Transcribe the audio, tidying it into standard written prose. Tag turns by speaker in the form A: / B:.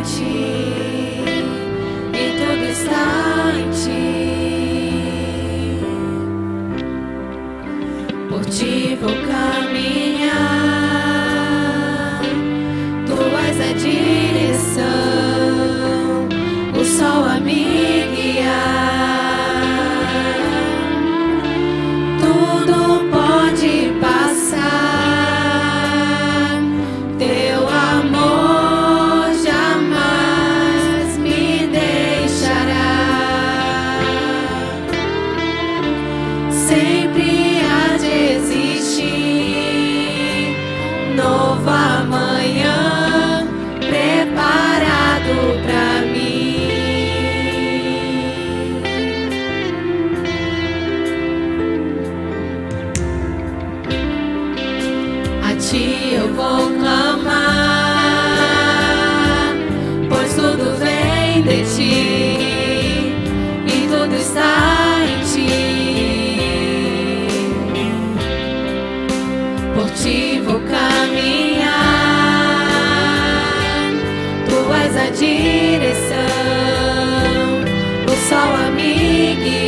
A: ti, e tudo está em ti. Por ti vou caminhar, tu és a direção, o sol a me guiar. Tudo pode passar, teu amor jamais me deixará. Sempre há de existir novo amanhã preparado pra mim. A ti eu vou clamar, pois tudo vem de ti e tudo está em ti. Por ti vou caminhar, tu és a direção, o sol a me guiar.